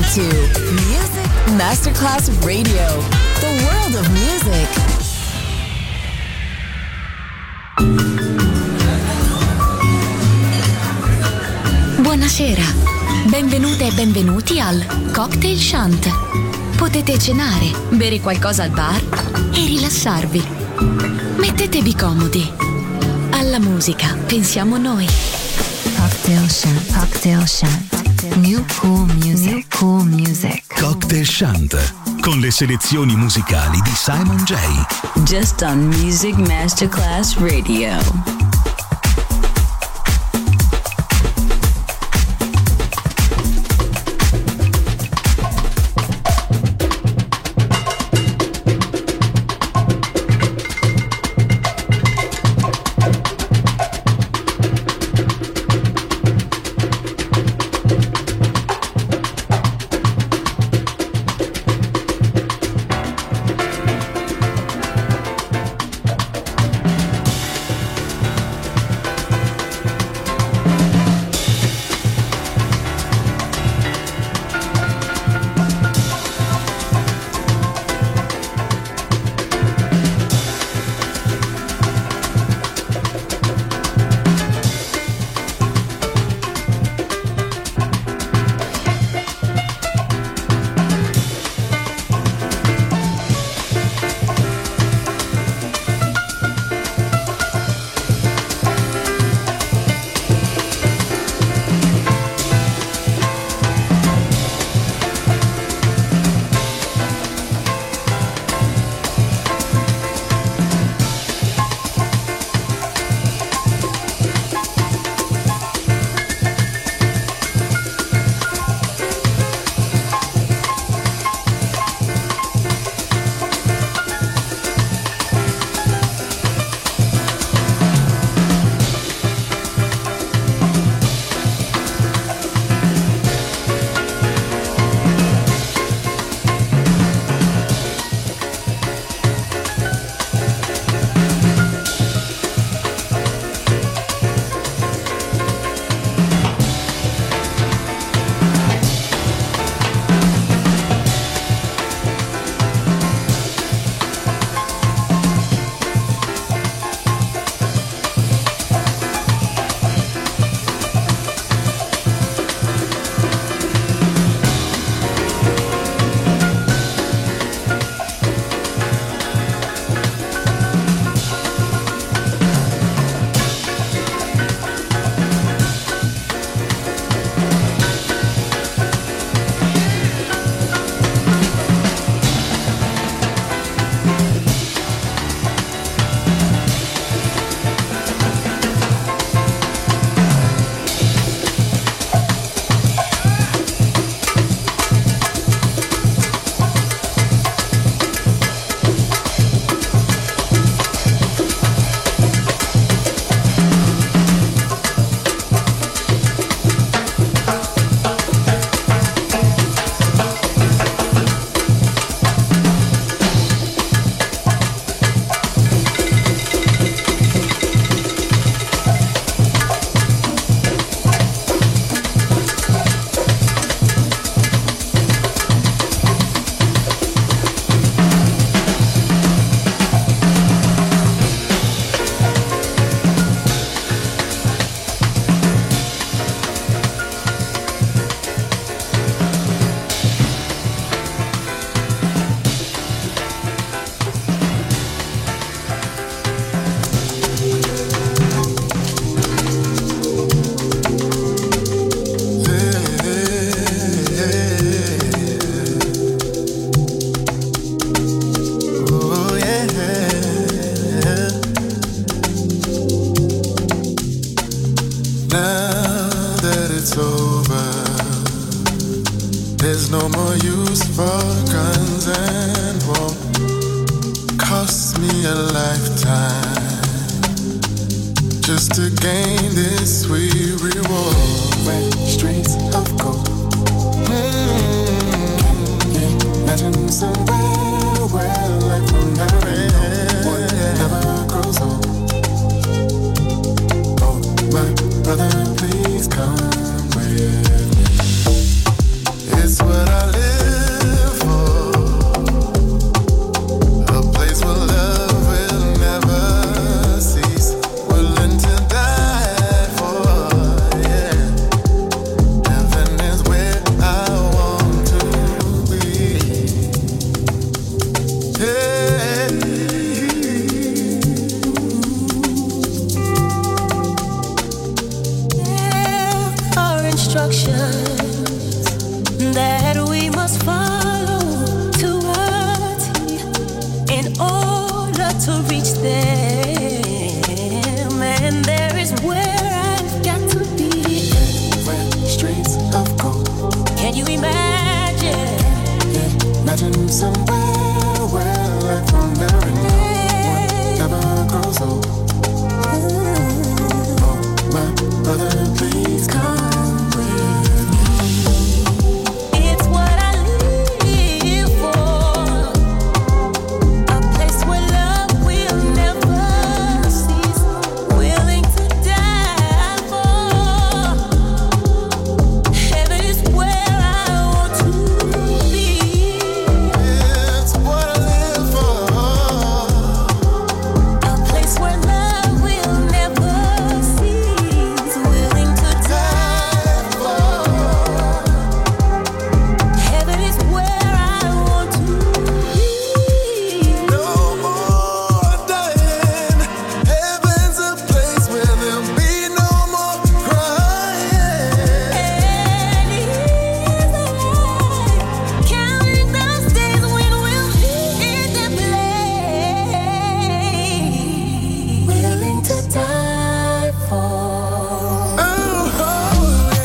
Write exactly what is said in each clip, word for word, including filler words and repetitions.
to Music Masterclass Radio, the world of music. Buonasera, benvenute e benvenuti al Cocktail Shant. Potete cenare, bere qualcosa al bar e rilassarvi. Mettetevi comodi. Alla musica pensiamo noi. Cocktail Shant, Cocktail Shant. New cool music, New cool music. Cocktail Shant, con le selezioni musicali di Simon J. Just on Music Masterclass Radio. Brother, please come with me. It's what I that we must follow to a T in order to reach them. And there is where I've got to be. Red streets of gold. Can you imagine? Yeah, imagine somewhere where life will never end. One never grows old. Oh, my brother, please come with me. It's what I live for. A place where love will never cease. Willing to die for. Heaven is where I want to be. It's what I live for. A place where love will never cease. Willing to die for. Heaven is where I want to be. No more dying. Heaven's a place where there'll be no more crying. And here's the light, counting those days when we'll be in that place. Willing to die for. Oh, oh, yeah.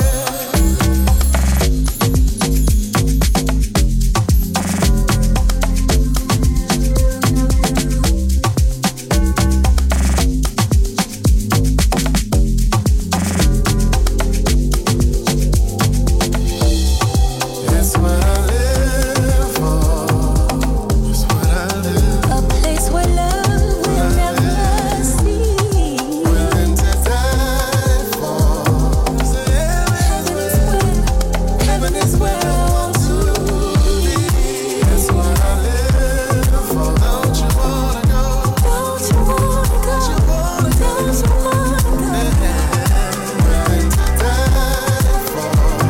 It's what I live for. It's what I live. A place where love will never cease. Willing to die for. Heaven is where, heaven is where I want to be. It's what I live for. Don't you wanna go? Don't you wanna go? Don't you wanna go? Willing to die for.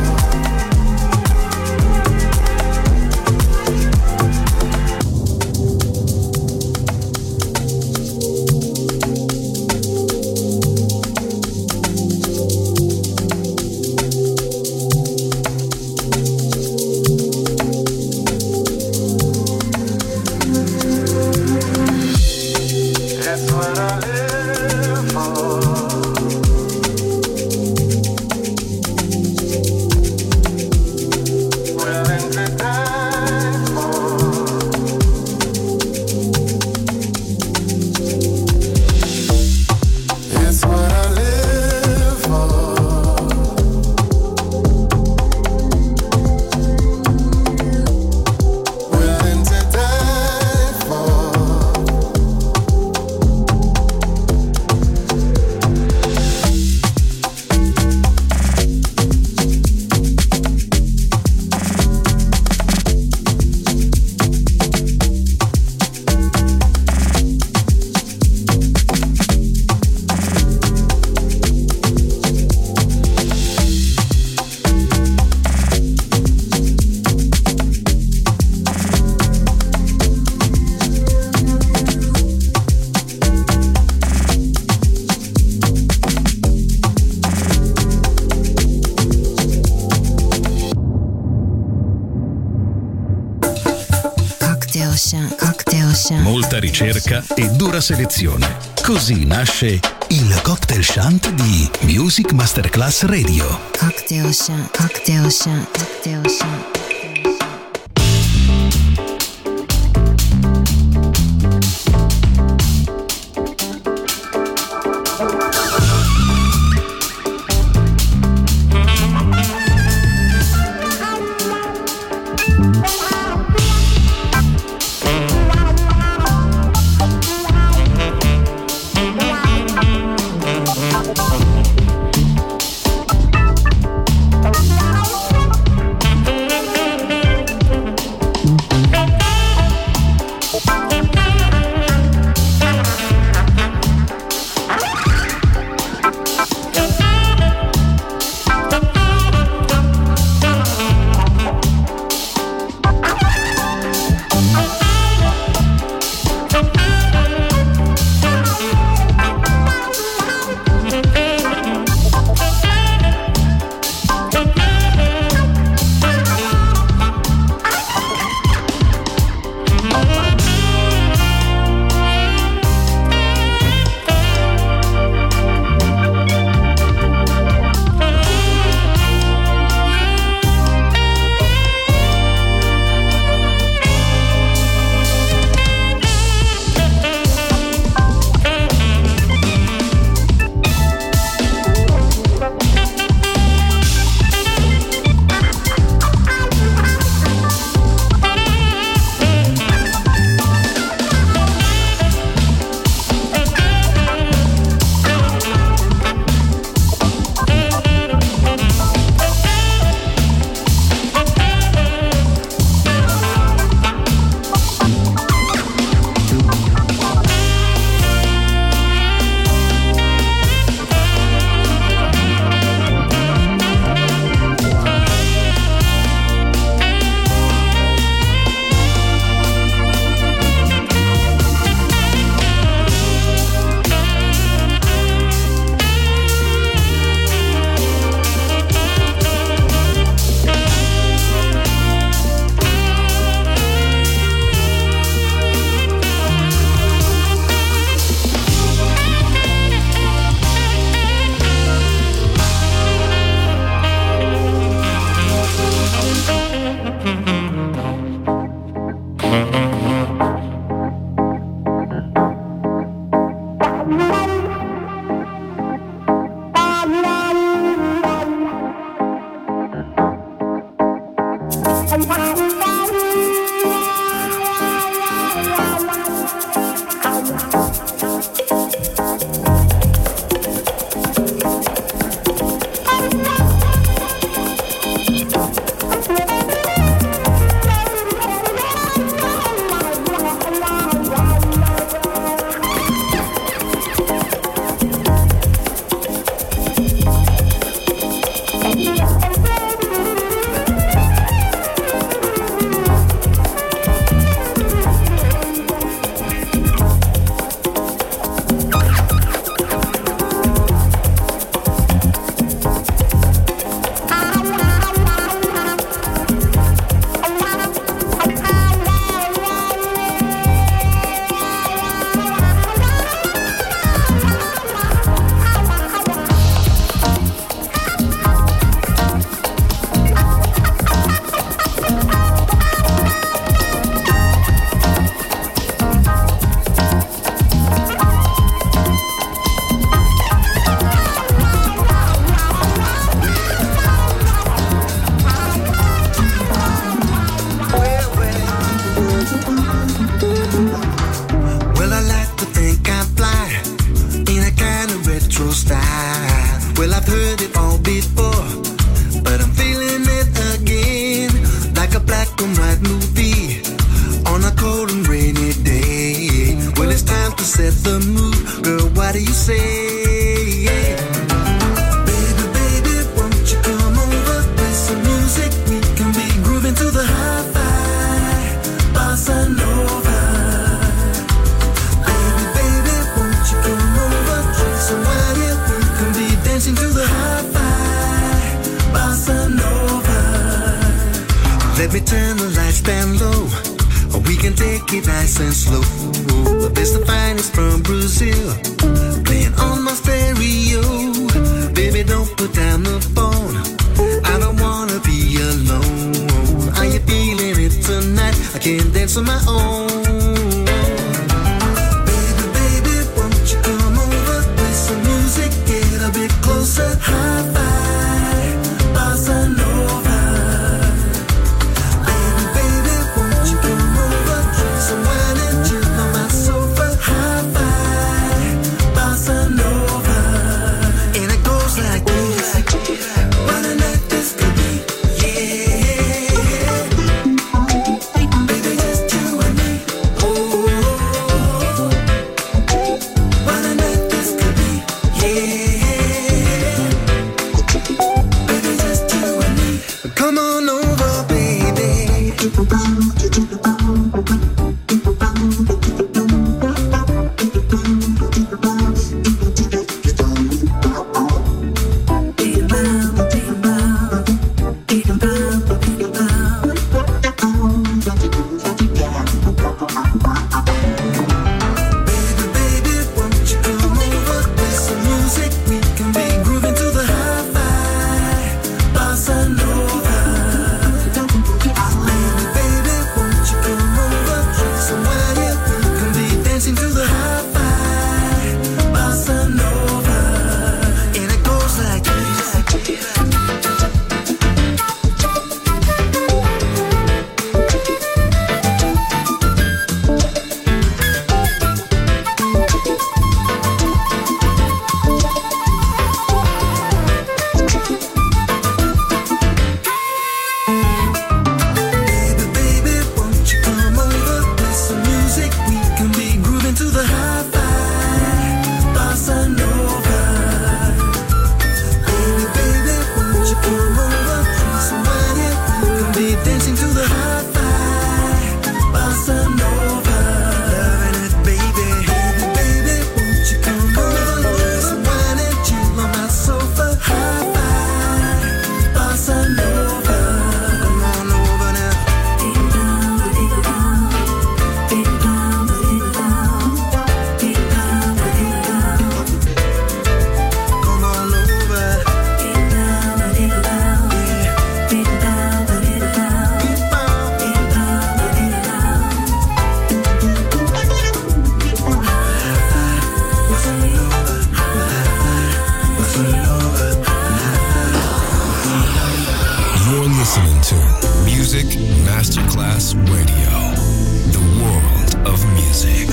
It's what I live for. Willing to die for. It's what I live for. Willing to die for. Cocktail Chant, Cocktail Chant, Molta ricerca e dura selezione. Così nasce il Cocktail Chant di Music Masterclass Radio. Cocktail Chant, Cocktail Chant, Cocktail Chant. Thank Bossa Nova. Baby, won't you listening to Music Masterclass Radio, the world of music.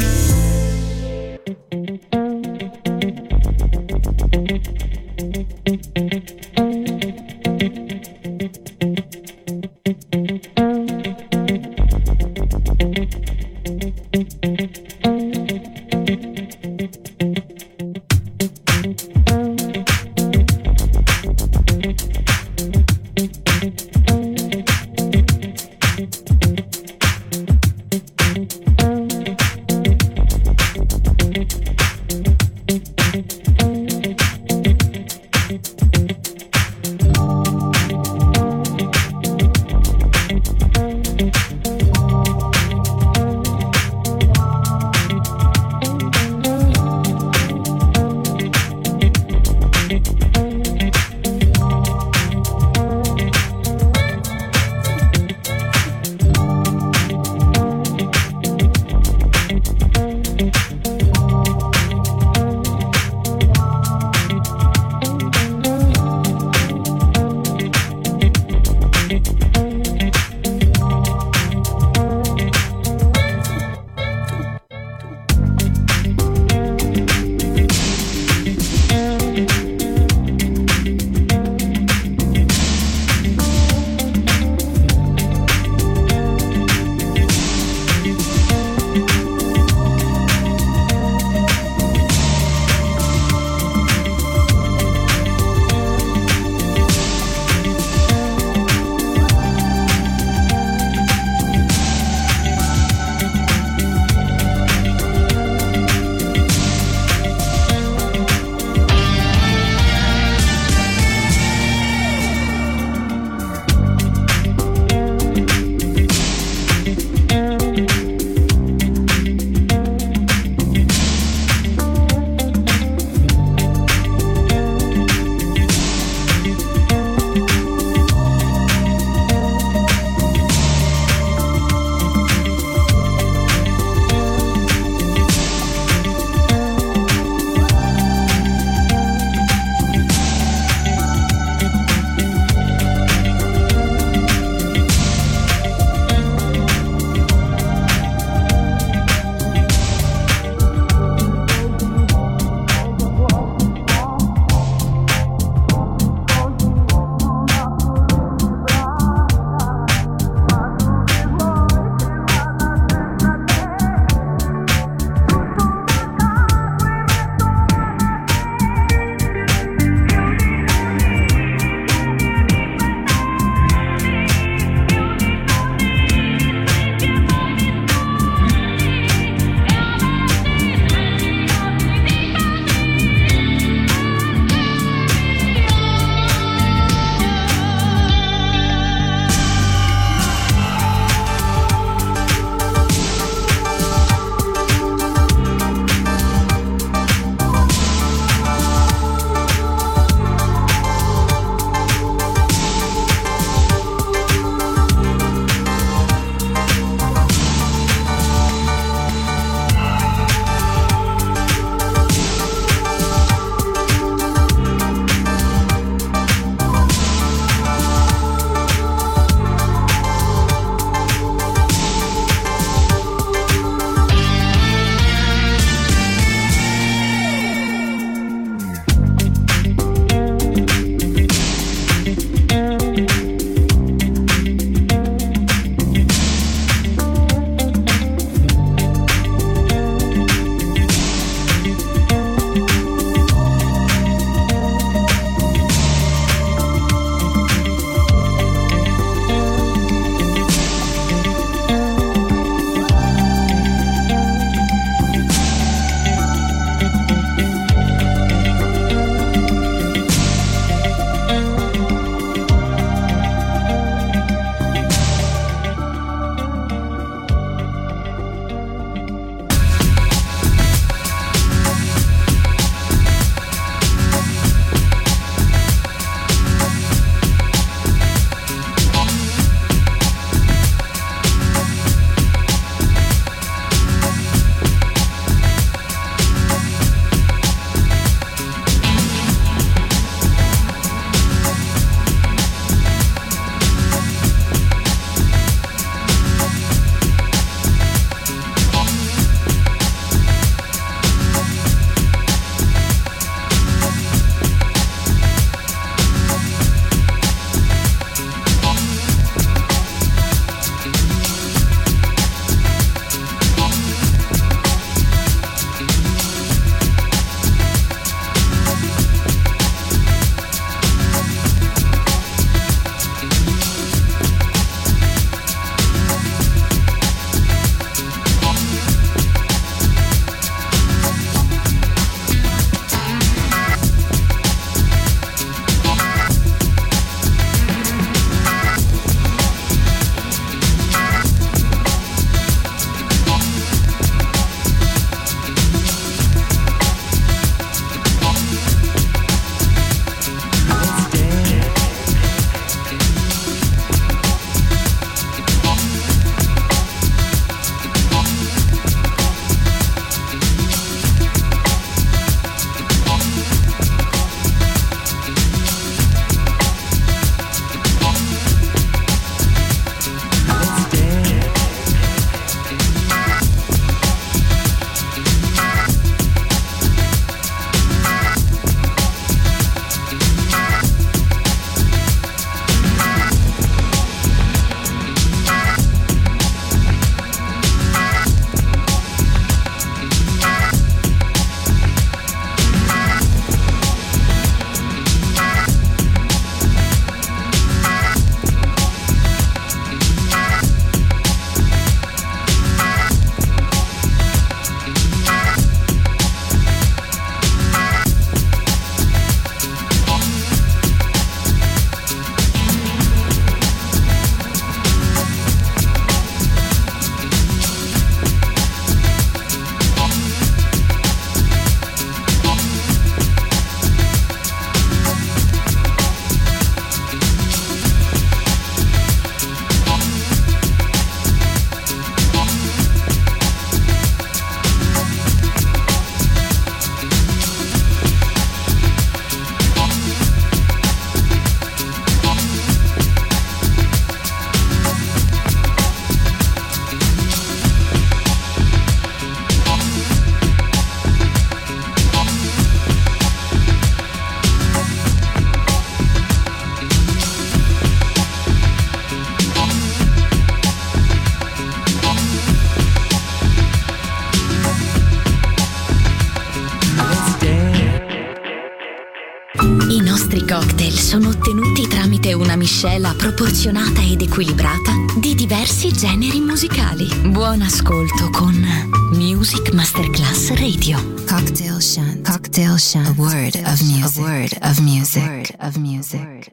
sono ottenuti tramite una miscela proporzionata ed equilibrata di diversi generi musicali. Buon ascolto con Music Masterclass Radio. Cocktail Shunt. Cocktail Shunt. A word of music. A word of music. A word of music.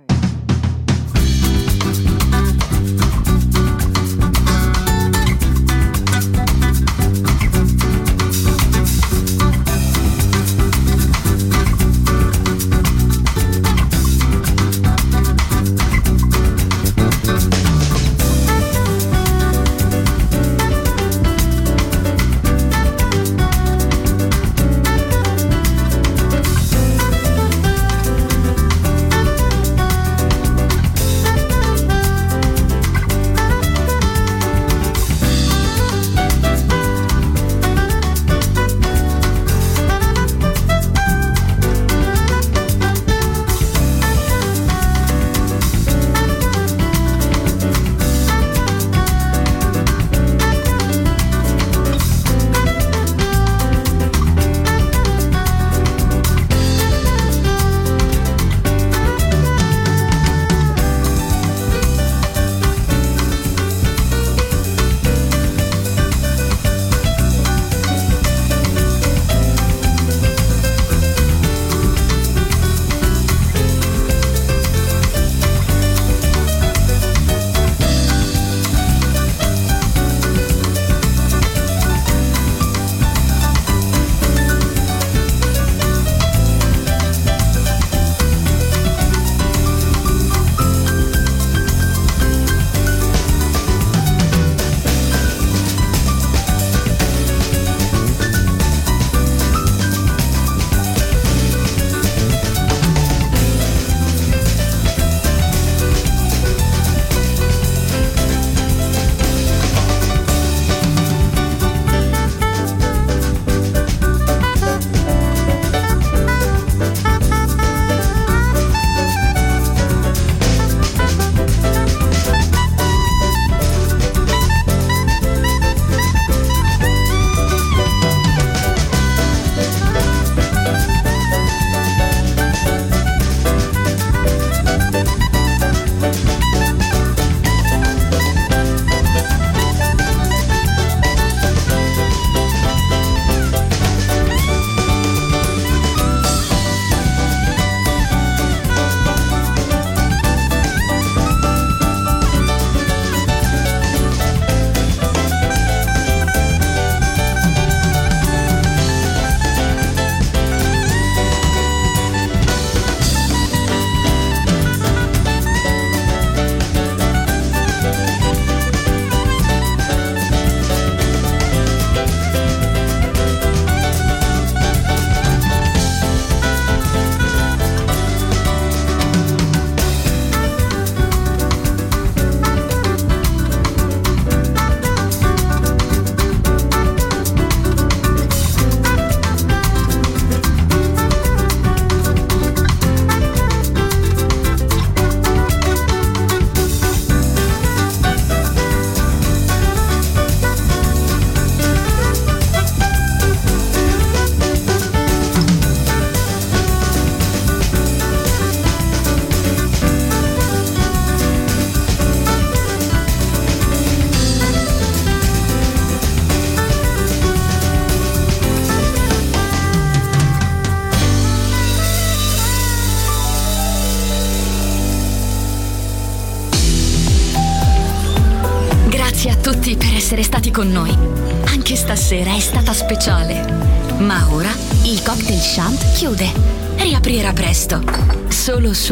Grazie a tutti per essere stati con noi. Anche stasera è stata speciale. Ma ora il Cocktail Shunt chiude. Riaprirà presto. Solo su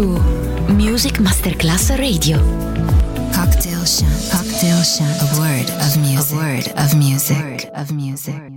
Music Masterclass Radio. Cocktail Shunt. Cocktail Shunt. A word of music. A word of music. A word of music.